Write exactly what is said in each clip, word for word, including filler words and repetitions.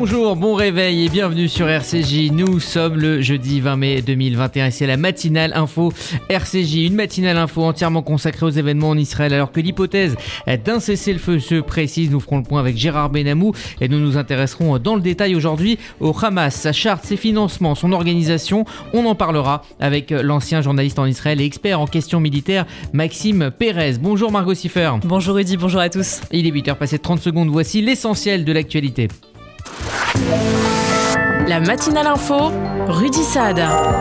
Bonjour, bon réveil et bienvenue sur R C J. Nous sommes le jeudi vingt mai deux mille vingt et un et c'est la matinale info R C J. Une matinale info entièrement consacrée aux événements en Israël alors que l'hypothèse d'un cessez-le-feu se précise. Nous ferons le point avec Gérard Benamou et nous nous intéresserons dans le détail aujourd'hui au Hamas, sa charte, ses financements, son organisation. On en parlera avec l'ancien journaliste en Israël et expert en questions militaires Maxime Pérez. Bonjour Margot Siffer. Bonjour Rudy, bonjour à tous. Il est huit heures passé de trente secondes, voici l'essentiel de l'actualité. La matinale info, Rudy Saad.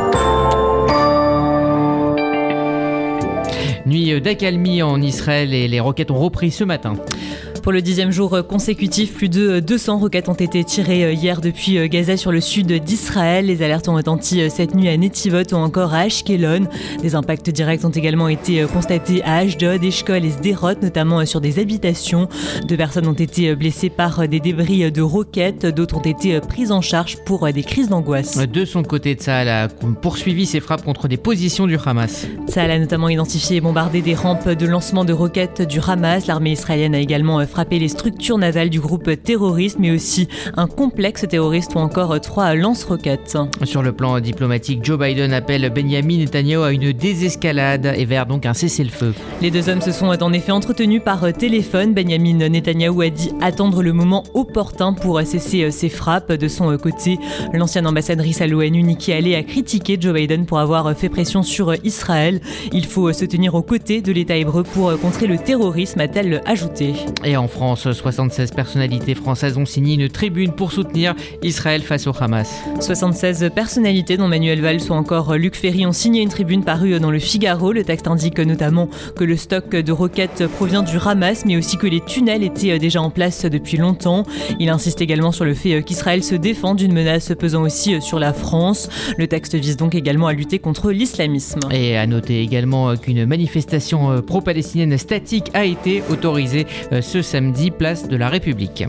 Nuit d'accalmie en Israël et les roquettes ont repris ce matin. Pour le dixième jour consécutif, plus de deux cents roquettes ont été tirées hier depuis Gaza sur le sud d'Israël. Les alertes ont retenti cette nuit à Netivot ou encore à Ashkelon. Des impacts directs ont également été constatés à Ashdod, Eshkol et Sderot, notamment sur des habitations. Deux personnes ont été blessées par des débris de roquettes. D'autres ont été prises en charge pour des crises d'angoisse. De son côté, Tsahal a poursuivi ses frappes contre des positions du Hamas. Tsahal a notamment identifié et bombardé des rampes de lancement de roquettes du Hamas. L'armée israélienne a également frappé les structures navales du groupe terroriste, mais aussi un complexe terroriste ou encore trois lance-roquettes. Sur le plan diplomatique, Joe Biden appelle Benjamin Netanyahu à une désescalade et vers donc un cessez-le-feu. Les deux hommes se sont en effet entretenus par téléphone. Benjamin Netanyahu a dit attendre le moment opportun pour cesser ses frappes. De son côté, l'ancienne ambassadrice à l'ONU, Nikki Haley, a critiqué Joe Biden pour avoir fait pression sur Israël. Il faut se tenir aux côtés de l'État hébreu pour contrer le terrorisme, a-t-elle ajouté. Et en France, soixante-seize personnalités françaises ont signé une tribune pour soutenir Israël face au Hamas. soixante-seize personnalités, dont Manuel Valls ou encore Luc Ferry, ont signé une tribune parue dans le Figaro. Le texte indique notamment que le stock de roquettes provient du Hamas, mais aussi que les tunnels étaient déjà en place depuis longtemps. Il insiste également sur le fait qu'Israël se défend d'une menace pesant aussi sur la France. Le texte vise donc également à lutter contre l'islamisme. Et à noter également qu'une manifestation pro-palestinienne statique a été autorisée ce samedi, place de la République.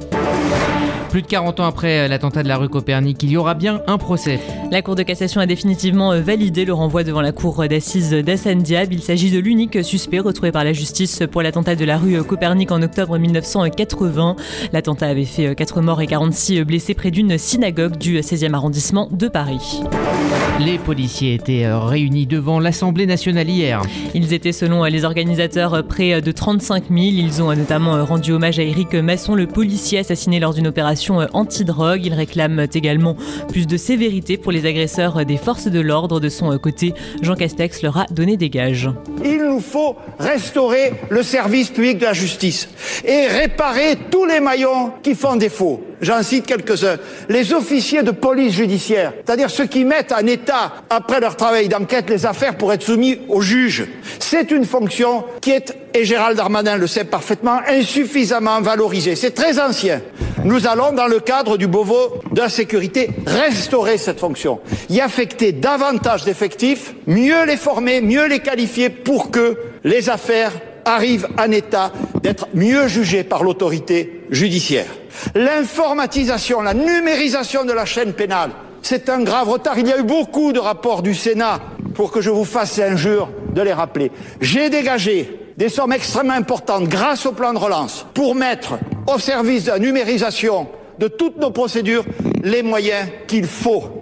Plus de quarante ans après l'attentat de la rue Copernic, il y aura bien un procès. La Cour de cassation a définitivement validé le renvoi devant la cour d'assises d'Hassan Diab. Il s'agit de l'unique suspect retrouvé par la justice pour l'attentat de la rue Copernic en octobre mille neuf cent quatre-vingts. L'attentat avait fait quatre morts et quarante-six blessés près d'une synagogue du seizième arrondissement de Paris. Les policiers étaient réunis devant l'Assemblée nationale hier. Ils étaient, selon les organisateurs, près de trente-cinq mille. Ils ont notamment rendu hommage à Éric Masson, le policier assassiné lors d'une opération anti-drogue. Ils réclament également plus de sévérité pour les agresseurs des forces de l'ordre. De son côté, Jean Castex leur a donné des gages. Il nous faut restaurer le service public de la justice et réparer tous les maillons qui font défaut. J'en cite quelques-uns. Les officiers de police judiciaire, c'est-à-dire ceux qui mettent en état, après leur travail d'enquête, les affaires pour être soumis au juge. C'est une fonction qui est, et Gérald Darmanin le sait parfaitement, insuffisamment valorisée. C'est très ancien. Nous allons, dans le cadre du Beauvau de la sécurité, restaurer cette fonction, y affecter davantage d'effectifs, mieux les former, mieux les qualifier pour que les affaires arrivent en état d'être mieux jugées par l'autorité judiciaire. L'informatisation, la numérisation de la chaîne pénale, c'est un grave retard. Il y a eu beaucoup de rapports du Sénat pour que je vous fasse l'injure de les rappeler. J'ai dégagé des sommes extrêmement importantes grâce au plan de relance pour mettre au service de la numérisation de toutes nos procédures les moyens qu'il faut.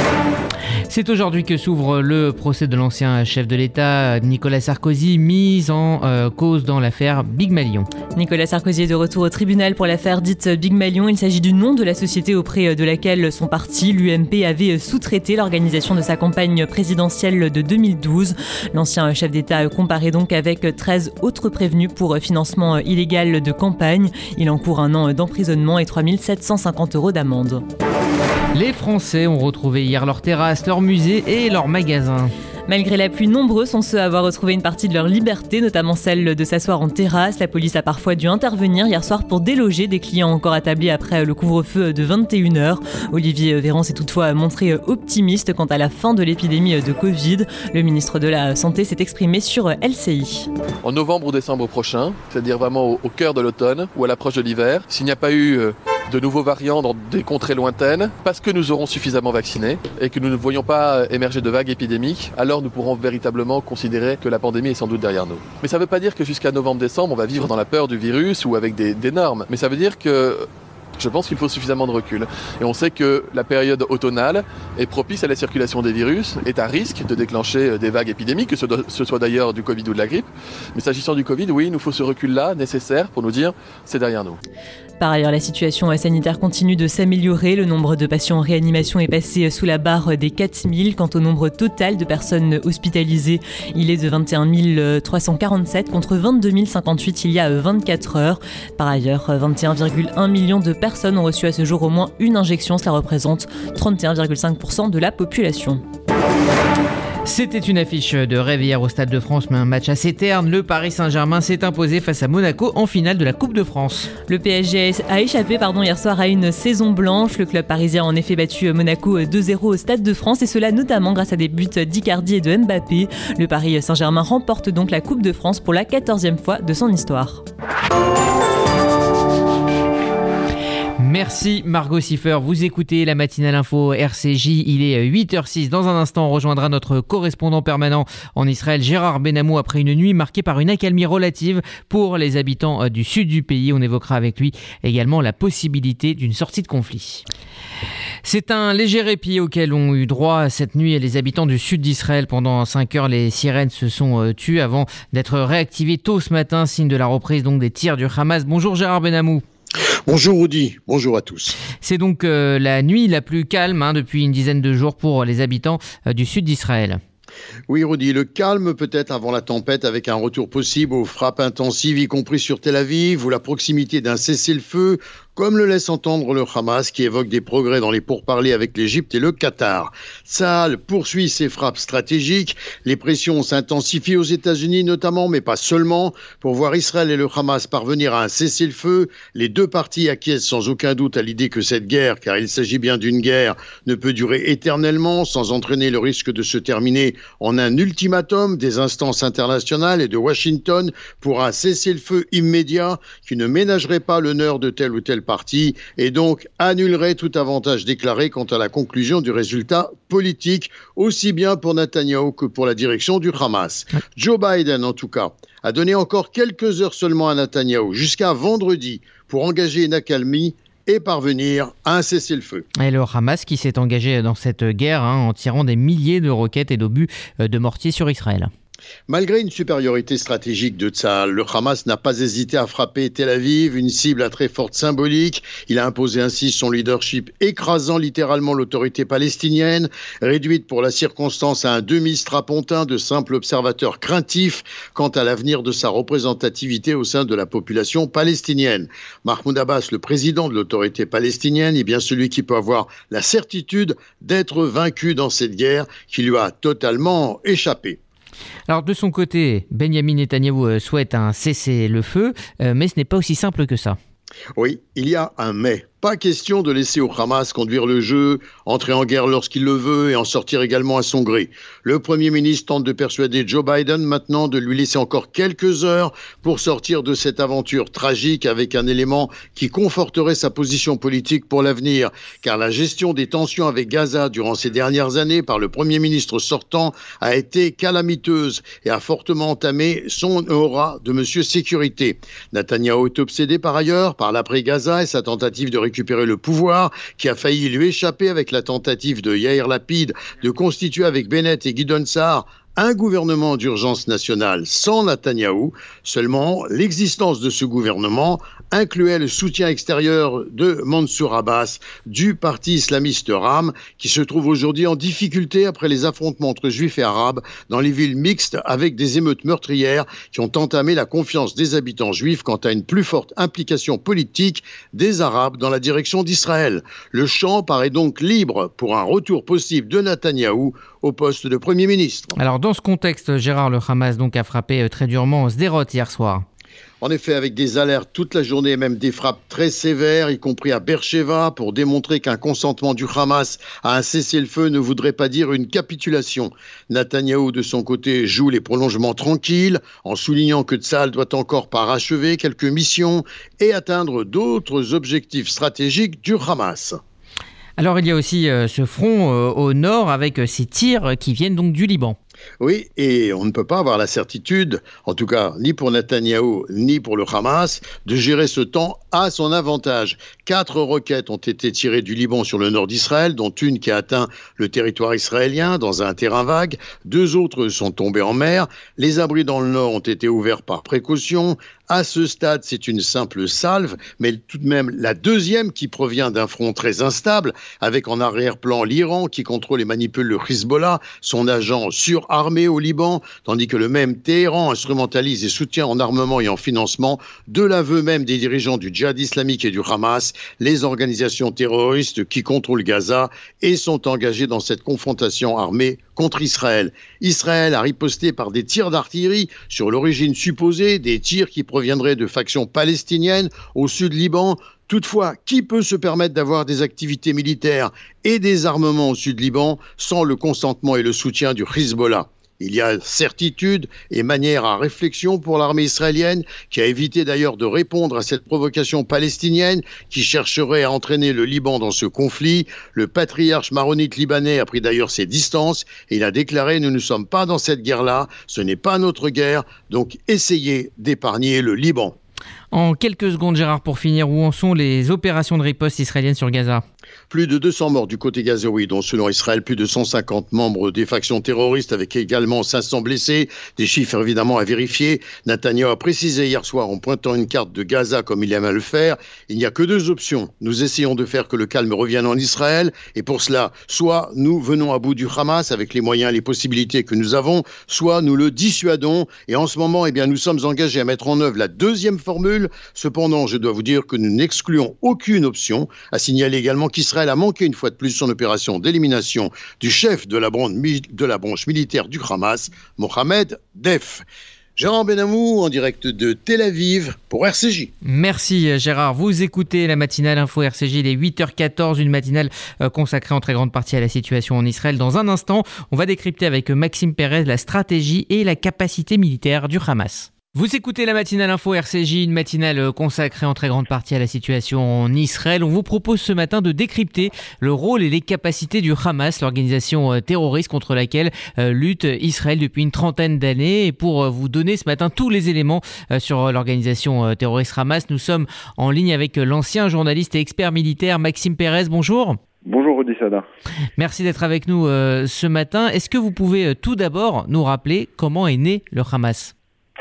C'est aujourd'hui que s'ouvre le procès de l'ancien chef de l'État, Nicolas Sarkozy, mis en euh, cause dans l'affaire Big Malion. Nicolas Sarkozy est de retour au tribunal pour l'affaire dite Big Malion. Il s'agit du nom de la société auprès de laquelle son parti, l'U M P, avait sous-traité l'organisation de sa campagne présidentielle de deux mille douze. L'ancien chef d'État comparaît donc avec treize autres prévenus pour financement illégal de campagne. Il encourt un an d'emprisonnement et trois mille sept cent cinquante euros d'amende. Les Français ont retrouvé hier leurs terrasses, leurs musées et leurs magasins. Malgré la pluie, nombreux sont ceux à avoir retrouvé une partie de leur liberté, notamment celle de s'asseoir en terrasse. La police a parfois dû intervenir hier soir pour déloger des clients encore attablés après le couvre-feu de vingt et une heures. Olivier Véran s'est toutefois montré optimiste quant à la fin de l'épidémie de Covid. Le ministre de la Santé s'est exprimé sur L C I. En novembre ou décembre prochain, c'est-à-dire vraiment au cœur de l'automne ou à l'approche de l'hiver, s'il n'y a pas eu de nouveaux variants dans des contrées lointaines, parce que nous aurons suffisamment vaccinés et que nous ne voyons pas émerger de vagues épidémiques, alors nous pourrons véritablement considérer que la pandémie est sans doute derrière nous. Mais ça ne veut pas dire que jusqu'à novembre-décembre, on va vivre dans la peur du virus ou avec des, des normes. Mais ça veut dire que Je pense qu'il faut suffisamment de recul. Et on sait que la période automnale est propice à la circulation des virus, est à risque de déclencher des vagues épidémiques, que ce soit d'ailleurs du Covid ou de la grippe. Mais s'agissant du Covid, oui, il nous faut ce recul-là nécessaire pour nous dire c'est derrière nous. Par ailleurs, la situation sanitaire continue de s'améliorer. Le nombre de patients en réanimation est passé sous la barre des quatre mille. Quant au nombre total de personnes hospitalisées, il est de vingt et un mille trois cent quarante-sept contre vingt-deux mille cinquante-huit il y a vingt-quatre heures. Par ailleurs, vingt et un virgule un million de personnes ont reçu à ce jour au moins une injection. Cela représente trente et un virgule cinq pour cent de la population. C'était une affiche de rêve hier au Stade de France, mais un match assez terne. Le Paris Saint-Germain s'est imposé face à Monaco en finale de la Coupe de France. Le P S G a échappé pardon, hier soir à une saison blanche. Le club parisien a en effet battu Monaco deux zéro au Stade de France, et cela notamment grâce à des buts d'Icardi et de Mbappé. Le Paris Saint-Germain remporte donc la Coupe de France pour la quatorzième fois de son histoire. Merci Margot Siffer, vous écoutez la matinale info R C J, il est huit heures six. Dans un instant, on rejoindra notre correspondant permanent en Israël, Gérard Benamou, après une nuit marquée par une accalmie relative pour les habitants du sud du pays. On évoquera avec lui également la possibilité d'une sortie de conflit. C'est un léger répit auquel ont eu droit cette nuit les habitants du sud d'Israël. Pendant cinq heures, les sirènes se sont tues avant d'être réactivées tôt ce matin, signe de la reprise donc des tirs du Hamas. Bonjour Gérard Benamou. Bonjour Rudy, bonjour à tous. C'est donc euh, la nuit la plus calme hein, depuis une dizaine de jours pour les habitants euh, du sud d'Israël. Oui Rudy, le calme peut-être avant la tempête, avec un retour possible aux frappes intensives, y compris sur Tel Aviv, ou la proximité d'un cessez-le-feu, comme le laisse entendre le Hamas, qui évoque des progrès dans les pourparlers avec l'Égypte et le Qatar. Tsahal poursuit ses frappes stratégiques. Les pressions s'intensifient aux États-Unis notamment, mais pas seulement, pour voir Israël et le Hamas parvenir à un cessez-le-feu. Les deux parties acquiescent sans aucun doute à l'idée que cette guerre, car il s'agit bien d'une guerre, ne peut durer éternellement, sans entraîner le risque de se terminer en un ultimatum des instances internationales et de Washington pour un cessez-le-feu immédiat qui ne ménagerait pas l'honneur de tel ou tel parti et donc annulerait tout avantage déclaré quant à la conclusion du résultat politique, aussi bien pour Netanyahou que pour la direction du Hamas. Joe Biden, en tout cas, a donné encore quelques heures seulement à Netanyahou, jusqu'à vendredi, pour engager une accalmie et parvenir à un cessez-le-feu. Et le Hamas qui s'est engagé dans cette guerre hein, en tirant des milliers de roquettes et d'obus de mortier sur Israël. Malgré une supériorité stratégique de Tsahal, le Hamas n'a pas hésité à frapper Tel Aviv, une cible à très forte symbolique. Il a imposé ainsi son leadership, écrasant littéralement l'autorité palestinienne, réduite pour la circonstance à un demi-strapontin de simples observateurs craintifs quant à l'avenir de sa représentativité au sein de la population palestinienne. Mahmoud Abbas, le président de l'autorité palestinienne, est bien celui qui peut avoir la certitude d'être vaincu dans cette guerre qui lui a totalement échappé. Alors de son côté, Benyamin Netanyahou souhaite un cessez-le-feu, mais ce n'est pas aussi simple que ça. Oui, il y a un mais. Pas question de laisser au Hamas conduire le jeu, entrer en guerre lorsqu'il le veut et en sortir également à son gré. Le Premier ministre tente de persuader Joe Biden maintenant de lui laisser encore quelques heures pour sortir de cette aventure tragique avec un élément qui conforterait sa position politique pour l'avenir. Car la gestion des tensions avec Gaza durant ces dernières années par le Premier ministre sortant a été calamiteuse et a fortement entamé son aura de monsieur sécurité. Netanyahou est obsédé par ailleurs par l'après-Gaza et sa tentative de récupérer le pouvoir qui a failli lui échapper avec la tentative de Yair Lapid de constituer avec Bennett et Gideon Sa'ar un gouvernement d'urgence nationale sans Netanyahou. Seulement, l'existence de ce gouvernement incluait le soutien extérieur de Mansour Abbas du parti islamiste Ram, qui se trouve aujourd'hui en difficulté après les affrontements entre juifs et arabes dans les villes mixtes avec des émeutes meurtrières qui ont entamé la confiance des habitants juifs quant à une plus forte implication politique des Arabes dans la direction d'Israël. Le champ paraît donc libre pour un retour possible de Netanyahou au poste de Premier ministre. Alors dans ce contexte, Gérard, le Hamas donc a frappé très durement Sderot hier soir. En effet, avec des alertes toute la journée et même des frappes très sévères, y compris à Beersheva, pour démontrer qu'un consentement du Hamas à un cessez-le-feu ne voudrait pas dire une capitulation. Netanyahou, de son côté, joue les prolongements tranquilles, en soulignant que Tsahal doit encore parachever quelques missions et atteindre d'autres objectifs stratégiques du Hamas. Alors il y a aussi euh, ce front euh, au nord avec euh, ces tirs qui viennent donc du Liban. Oui, et on ne peut pas avoir la certitude, en tout cas ni pour Netanyahou ni pour le Hamas, de gérer ce temps à son avantage. Quatre roquettes ont été tirées du Liban sur le nord d'Israël, dont une qui a atteint le territoire israélien dans un terrain vague. Deux autres sont tombées en mer. Les abris dans le nord ont été ouverts par précaution. À ce stade, c'est une simple salve, mais tout de même la deuxième qui provient d'un front très instable, avec en arrière-plan l'Iran qui contrôle et manipule le Hezbollah, son agent surarmé au Liban, tandis que le même Téhéran instrumentalise et soutient en armement et en financement, de l'aveu même des dirigeants du djihad islamique et du Hamas, les organisations terroristes qui contrôlent Gaza et sont engagées dans cette confrontation armée contre Israël. Israël a riposté par des tirs d'artillerie sur l'origine supposée des tirs qui proviendraient de factions palestiniennes au sud Liban. Toutefois, qui peut se permettre d'avoir des activités militaires et des armements au sud Liban sans le consentement et le soutien du Hezbollah ? Il y a certitude et manière à réflexion pour l'armée israélienne, qui a évité d'ailleurs de répondre à cette provocation palestinienne qui chercherait à entraîner le Liban dans ce conflit. Le patriarche maronite libanais a pris d'ailleurs ses distances et il a déclaré « Nous ne sommes pas dans cette guerre-là, ce n'est pas notre guerre, donc essayez d'épargner le Liban ». En quelques secondes, Gérard, pour finir, où en sont les opérations de riposte israéliennes sur Gaza ? Plus de deux cents morts du côté gazaoui, dont selon Israël, plus de cent cinquante membres des factions terroristes, avec également cinq cents blessés. Des chiffres évidemment à vérifier. Netanyahou a précisé hier soir en pointant une carte de Gaza comme il aime à le faire. Il n'y a que deux options. Nous essayons de faire que le calme revienne en Israël. Et pour cela, soit nous venons à bout du Hamas avec les moyens et les possibilités que nous avons, soit nous le dissuadons. Et en ce moment, eh bien, nous sommes engagés à mettre en œuvre la deuxième formule. Cependant, je dois vous dire que nous n'excluons aucune option. À signaler également qu'Israël a manqué une fois de plus son opération d'élimination du chef de la branche, de la branche militaire du Hamas, Mohamed Deif. Gérard Benamou en direct de Tel Aviv pour R C J. Merci Gérard. Vous écoutez la matinale Info R C J, il est huit heures quatorze, une matinale consacrée en très grande partie à la situation en Israël. Dans un instant, on va décrypter avec Maxime Pérez la stratégie et la capacité militaire du Hamas. Vous écoutez la matinale Info R C J, une matinale consacrée en très grande partie à la situation en Israël. On vous propose ce matin de décrypter le rôle et les capacités du Hamas, l'organisation terroriste contre laquelle lutte Israël depuis une trentaine d'années. Et pour vous donner ce matin tous les éléments sur l'organisation terroriste Hamas, nous sommes en ligne avec l'ancien journaliste et expert militaire Maxime Pérez. Bonjour. Bonjour Rudi Sada. Merci d'être avec nous ce matin. Est-ce que vous pouvez tout d'abord nous rappeler comment est né le Hamas ?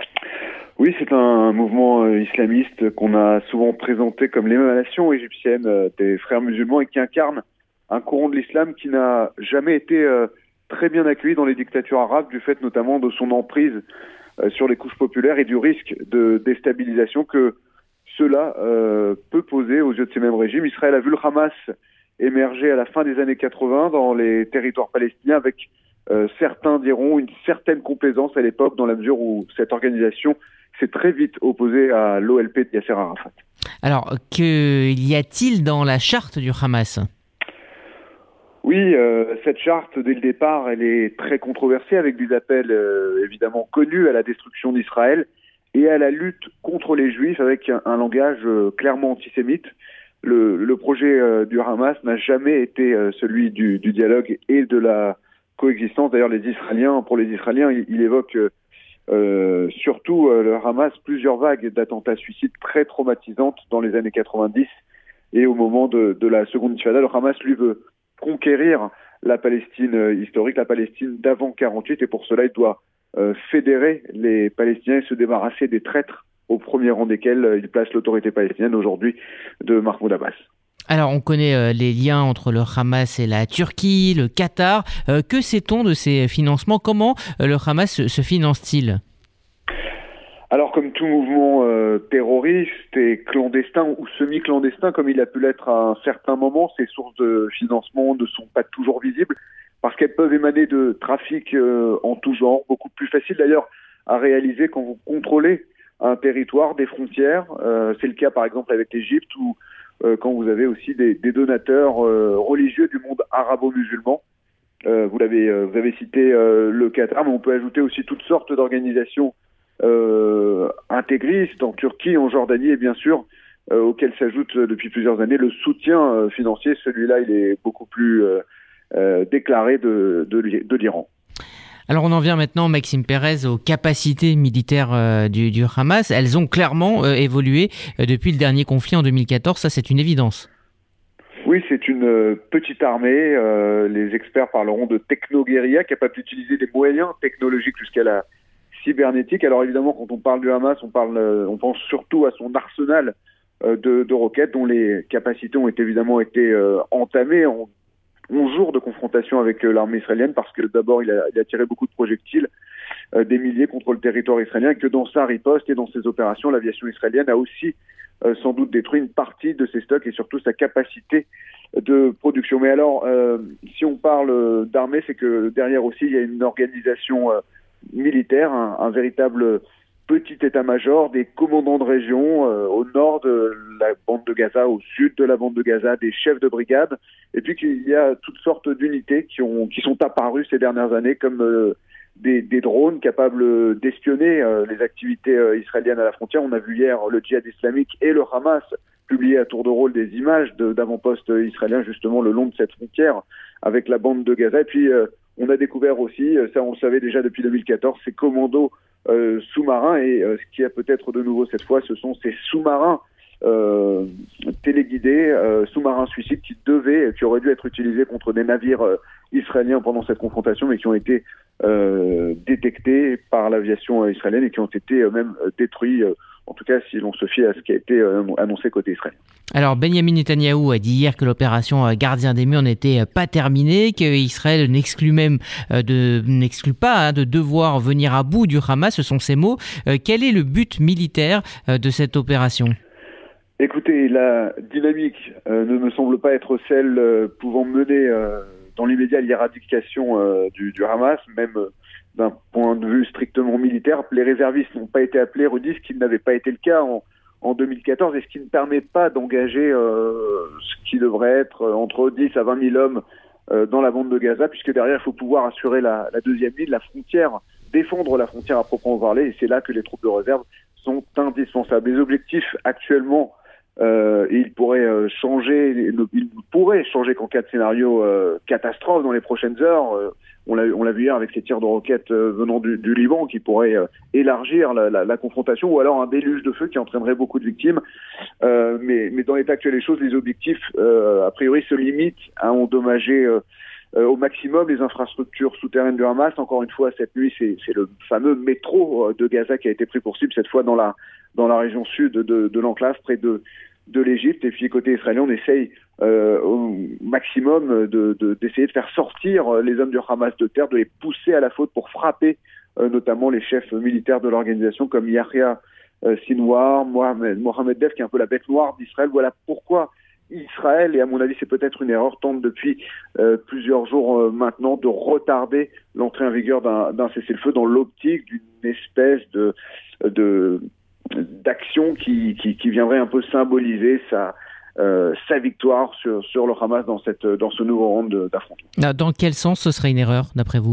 Oui, c'est un mouvement islamiste qu'on a souvent présenté comme l'émanation égyptienne des frères musulmans et qui incarne un courant de l'islam qui n'a jamais été très bien accueilli dans les dictatures arabes, du fait notamment de son emprise sur les couches populaires et du risque de déstabilisation que cela peut poser aux yeux de ces mêmes régimes. Israël a vu le Hamas émerger à la fin des années quatre-vingts dans les territoires palestiniens avec, certains diront, une certaine complaisance à l'époque dans la mesure où cette organisation s'est très vite opposé à l'O L P de Yasser Arafat. Alors, que y a-t-il dans la charte du Hamas ? Oui, euh, cette charte, dès le départ, elle est très controversée, avec des appels euh, évidemment connus à la destruction d'Israël et à la lutte contre les Juifs, avec un, un langage euh, clairement antisémite. Le, le projet euh, du Hamas n'a jamais été euh, celui du, du dialogue et de la coexistence. D'ailleurs, les Israéliens, pour les Israéliens, il, il évoque... Euh, Euh, surtout euh, le Hamas, plusieurs vagues d'attentats suicides très traumatisantes dans les années quatre-vingt-dix et au moment de, de la seconde intifada. Le Hamas, lui, veut conquérir la Palestine euh, historique, la Palestine d'avant quarante-huit, et pour cela, il doit euh, fédérer les Palestiniens et se débarrasser des traîtres, au premier rang desquels euh, il place l'autorité palestinienne aujourd'hui de Mahmoud Abbas. Alors, on connaît euh, les liens entre le Hamas et la Turquie, le Qatar. Euh, que sait-on de ces financements ? Comment euh, le Hamas se, se finance-t-il ? Alors, comme tout mouvement euh, terroriste et clandestin ou semi-clandestin, comme il a pu l'être à un certain moment, ces sources de financement ne sont pas toujours visibles parce qu'elles peuvent émaner de trafics euh, en tout genre, beaucoup plus facile d'ailleurs à réaliser quand vous contrôlez un territoire, des frontières. Euh, c'est le cas par exemple avec l'Égypte ou euh, quand vous avez aussi des, des donateurs euh, religieux du monde arabo-musulman. Euh, vous l'avez, euh, vous avez cité euh, le Qatar, mais on peut ajouter aussi toutes sortes d'organisations euh, intégristes en Turquie, en Jordanie et bien sûr euh, auxquelles s'ajoute euh, depuis plusieurs années le soutien euh, financier. Celui-là, il est beaucoup plus euh, euh, déclaré de, de, de l'Iran. Alors on en vient maintenant, Maxime Pérez, aux capacités militaires euh, du, du Hamas. Elles ont clairement euh, évolué euh, depuis le dernier conflit en deux mille quatorze, ça c'est une évidence. Oui, c'est une euh, petite armée. Euh, les experts parleront de techno-guérilla, capable d'utiliser des moyens technologiques jusqu'à la cybernétique. Alors évidemment, quand on parle du Hamas, on, parle, euh, on pense surtout à son arsenal euh, de, de roquettes, dont les capacités ont évidemment été euh, entamées en onze jours de confrontation avec euh, l'armée israélienne, parce que d'abord, il a, il a tiré beaucoup de projectiles, euh, des milliers contre le territoire israélien, et que dans sa riposte et dans ses opérations, l'aviation israélienne a aussi euh, sans doute détruit une partie de ses stocks et surtout sa capacité de production. Mais alors, euh, si on parle d'armée, c'est que derrière aussi, il y a une organisation euh, militaire, un, un véritable petit état-major, des commandants de région euh, au nord de la bande de Gaza, au sud de la bande de Gaza, des chefs de brigade, et puis qu'il y a toutes sortes d'unités qui ont qui sont apparues ces dernières années, comme euh, des, des drones capables d'espionner euh, les activités euh, israéliennes à la frontière. On a vu hier le djihad islamique et le Hamas publier à tour de rôle des images de, d'avant-postes israéliens justement le long de cette frontière avec la bande de Gaza. Et puis euh, on a découvert aussi, ça on le savait déjà depuis deux mille quatorze, ces commandos euh, sous-marins, et euh, ce qui a peut-être de nouveau cette fois, ce sont ces sous-marins euh, téléguidés, euh, sous-marins suicides qui devaient, qui auraient dû être utilisés contre des navires euh, israéliens pendant cette confrontation, mais qui ont été euh, détectés par l'aviation euh, israélienne et qui ont été euh, même euh, détruits, euh, en tout cas si l'on se fie à ce qui a été euh, annoncé côté israélien. Alors Benyamin Netanyahou a dit hier que l'opération Gardien des Murs n'était pas terminée, qu'Israël n'exclut même de n'exclut pas hein, de devoir venir à bout du Hamas, ce sont ses mots. Euh, quel est le but militaire euh, de cette opération ? Écoutez, la dynamique euh, ne me semble pas être celle euh, pouvant mener euh, dans l'immédiat l'éradication euh, du, du Hamas, même euh, d'un point de vue strictement militaire. Les réservistes n'ont pas été appelés, redisent qu'il n'avait pas été le cas en en deux mille quatorze, et ce qui ne permet pas d'engager euh, ce qui devrait être entre dix à vingt mille hommes euh, dans la bande de Gaza, puisque derrière, il faut pouvoir assurer la, la deuxième ligne, la frontière, défendre la frontière à proprement parler, et c'est là que les troupes de réserve sont indispensables. Les objectifs actuellement, euh, ils pourraient euh, changer, ils pourraient changer qu'en cas de scénario euh, catastrophe dans les prochaines heures. Euh, On l'a, on l'a vu hier avec ces tirs de roquettes euh, venant du, du Liban qui pourraient euh, élargir la, la, la confrontation, ou alors un déluge de feu qui entraînerait beaucoup de victimes. Euh, mais, mais dans l'état actuel des choses, les objectifs, euh, a priori, se limitent à endommager euh, euh, au maximum les infrastructures souterraines du Hamas. Encore une fois, cette nuit, c'est, c'est le fameux métro de Gaza qui a été pris pour cible, cette fois dans la, dans la région sud de, de l'enclave, près de de l'Égypte. Et puis côté israélien, on essaye euh, au maximum de, de, d'essayer de faire sortir les hommes du Hamas de terre, de les pousser à la faute pour frapper euh, notamment les chefs militaires de l'organisation comme Yahya euh, Sinwar, Mohamed, Mohamed Dev, qui est un peu la bête noire d'Israël. Voilà pourquoi Israël, et à mon avis c'est peut-être une erreur, tente depuis euh, plusieurs jours euh, maintenant de retarder l'entrée en vigueur d'un, d'un cessez-le-feu dans l'optique d'une espèce de... de d'action qui, qui, qui viendrait un peu symboliser sa, euh, sa victoire sur, sur le Hamas dans, cette, dans ce nouveau round d'affrontement. Dans quel sens ce serait une erreur, d'après vous ?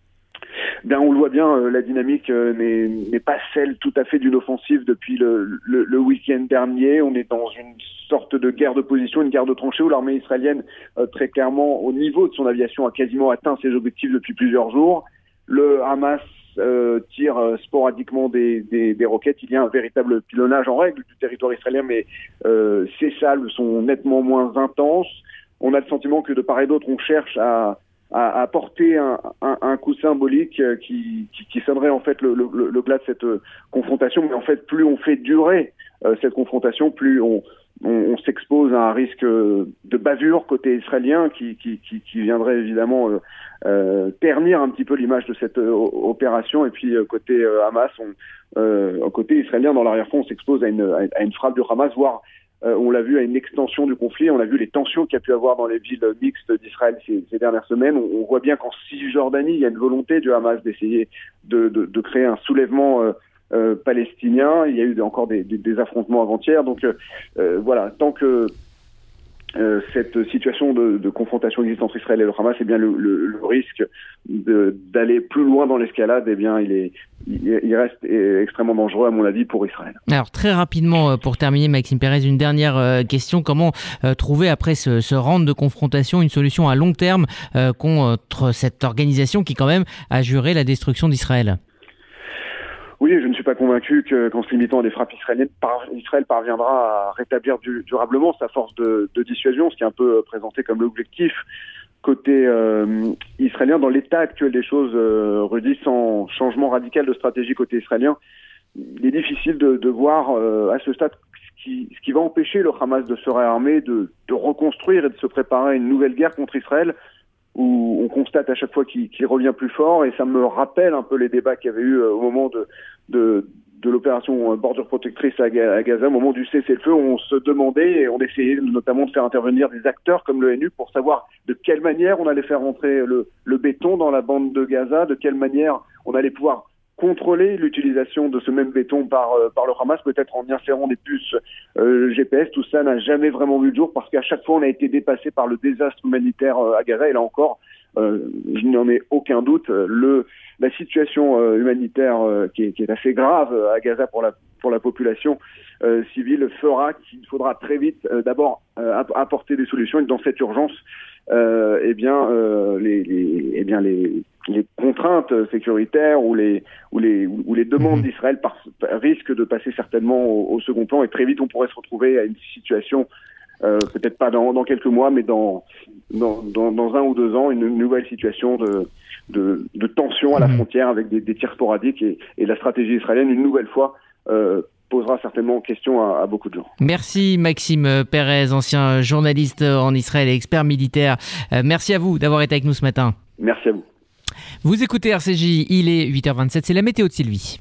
Ben, on le voit bien, euh, la dynamique euh, n'est, n'est pas celle tout à fait d'une offensive depuis le, le, le week-end dernier. On est dans une sorte de guerre de position, une guerre de tranchées où l'armée israélienne, euh, très clairement, au niveau de son aviation, a quasiment atteint ses objectifs depuis plusieurs jours. Le Hamas Euh, tire euh, sporadiquement des, des, des roquettes. Il y a un véritable pilonnage en règle du territoire israélien, mais euh, ces salves sont nettement moins intenses. On a le sentiment que de part et d'autre, on cherche à, à, à porter un, un, un coup symbolique qui, qui, qui sonnerait en fait le, le, le glas de cette euh, confrontation. Mais en fait, plus on fait durer euh, cette confrontation, plus on, on, on s'expose à un risque de bavure côté israélien qui, qui, qui, qui viendrait évidemment euh, euh, ternir un petit peu l'image de cette euh, opération. Et puis euh, côté euh, Hamas, on, euh, côté israélien, dans l'arrière-fond, on s'expose à une, à une frappe du Hamas, voire euh, on l'a vu à une extension du conflit. On a vu les tensions qu'il y a pu avoir dans les villes mixtes d'Israël ces, ces dernières semaines. On, on voit bien qu'en Cisjordanie, il y a une volonté du Hamas d'essayer de, de, de créer un soulèvement euh, Euh, palestinien. Il y a eu encore des, des, des affrontements avant-hier. Donc euh, euh, voilà, tant que euh, cette situation de, de confrontation existante entre Israël et le Hamas, eh bien le, le, le risque de, d'aller plus loin dans l'escalade, eh bien il est, il, il reste extrêmement dangereux à mon avis pour Israël. Alors très rapidement pour terminer, Maxime Pérez, une dernière euh, question. Comment euh, trouver après ce, ce round de confrontation une solution à long terme euh, contre cette organisation qui quand même a juré la destruction d'Israël? Oui, je ne suis pas convaincu que, qu'en se limitant à des frappes israéliennes, par, Israël parviendra à rétablir du, durablement sa force de, de dissuasion, ce qui est un peu présenté comme l'objectif côté euh, israélien. Dans l'état actuel des choses, euh, Rudy, sans changement radical de stratégie côté israélien, il est difficile de, de voir euh, à ce stade ce qui, ce qui va empêcher le Hamas de se réarmer, de, de reconstruire et de se préparer à une nouvelle guerre contre Israël, où on constate à chaque fois qu'il, qu'il revient plus fort, et ça me rappelle un peu les débats qu'il y avait eu au moment de, de, de l'opération Bordure Protectrice à Gaza, au moment du cessez-le-feu, où on se demandait, et on essayait notamment de faire intervenir des acteurs comme l'O N U pour savoir de quelle manière on allait faire rentrer le, le béton dans la bande de Gaza, de quelle manière on allait pouvoir contrôler l'utilisation de ce même béton par, euh, par le Hamas, peut-être en y insérant des puces euh, G P S. Tout ça n'a jamais vraiment vu le jour parce qu'à chaque fois on a été dépassé par le désastre humanitaire euh, à Gaza. Et là encore, euh, je n'en ai aucun doute, le, la situation euh, humanitaire euh, qui, est, qui est assez grave à Gaza pour la, pour la population euh, civile fera qu'il faudra très vite euh, d'abord euh, apporter des solutions, et dans cette urgence, euh, eh bien, euh, les, les, eh bien les les contraintes sécuritaires ou les ou les ou les demandes d'Israël par, par, risquent de passer certainement au, au second plan, et très vite on pourrait se retrouver à une situation euh, peut-être pas dans, dans quelques mois, mais dans dans, dans dans un ou deux ans, une nouvelle situation de de, de tension à la frontière avec des, des tirs sporadiques, et, et la stratégie israélienne une nouvelle fois euh, posera certainement question à, à beaucoup de gens. Merci Maxime Pérez, ancien journaliste en Israël et expert militaire. Euh, merci à vous d'avoir été avec nous ce matin. Merci à vous. Vous écoutez R C J, il est huit heures vingt-sept, c'est la météo de Sylvie.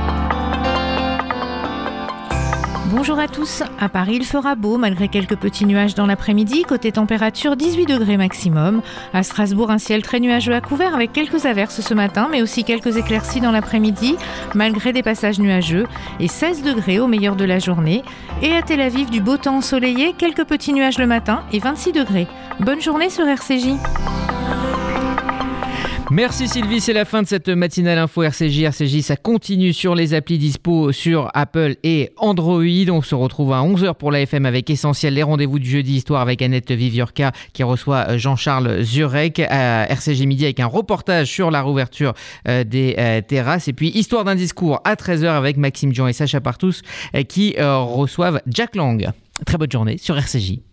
Bonjour à tous. À Paris, il fera beau malgré quelques petits nuages dans l'après-midi. Côté température, dix-huit degrés maximum. À Strasbourg, un ciel très nuageux à couvert avec quelques averses ce matin, mais aussi quelques éclaircies dans l'après-midi, malgré des passages nuageux. Et seize degrés au meilleur de la journée. Et à Tel Aviv, du beau temps ensoleillé, quelques petits nuages le matin et vingt-six degrés. Bonne journée sur R C J. Merci Sylvie, c'est la fin de cette matinale info R C J. R C J, ça continue sur les applis dispo sur Apple et Android. On se retrouve à onze heures pour la F M avec Essentiel, les rendez-vous du jeudi histoire avec Annette Viviorca qui reçoit Jean-Charles Zurek. À R C J Midi avec un reportage sur la réouverture des terrasses. Et puis Histoire d'un discours à treize heures avec Maxime Dion et Sacha Partous qui reçoivent Jack Lang. Très bonne journée sur R C J.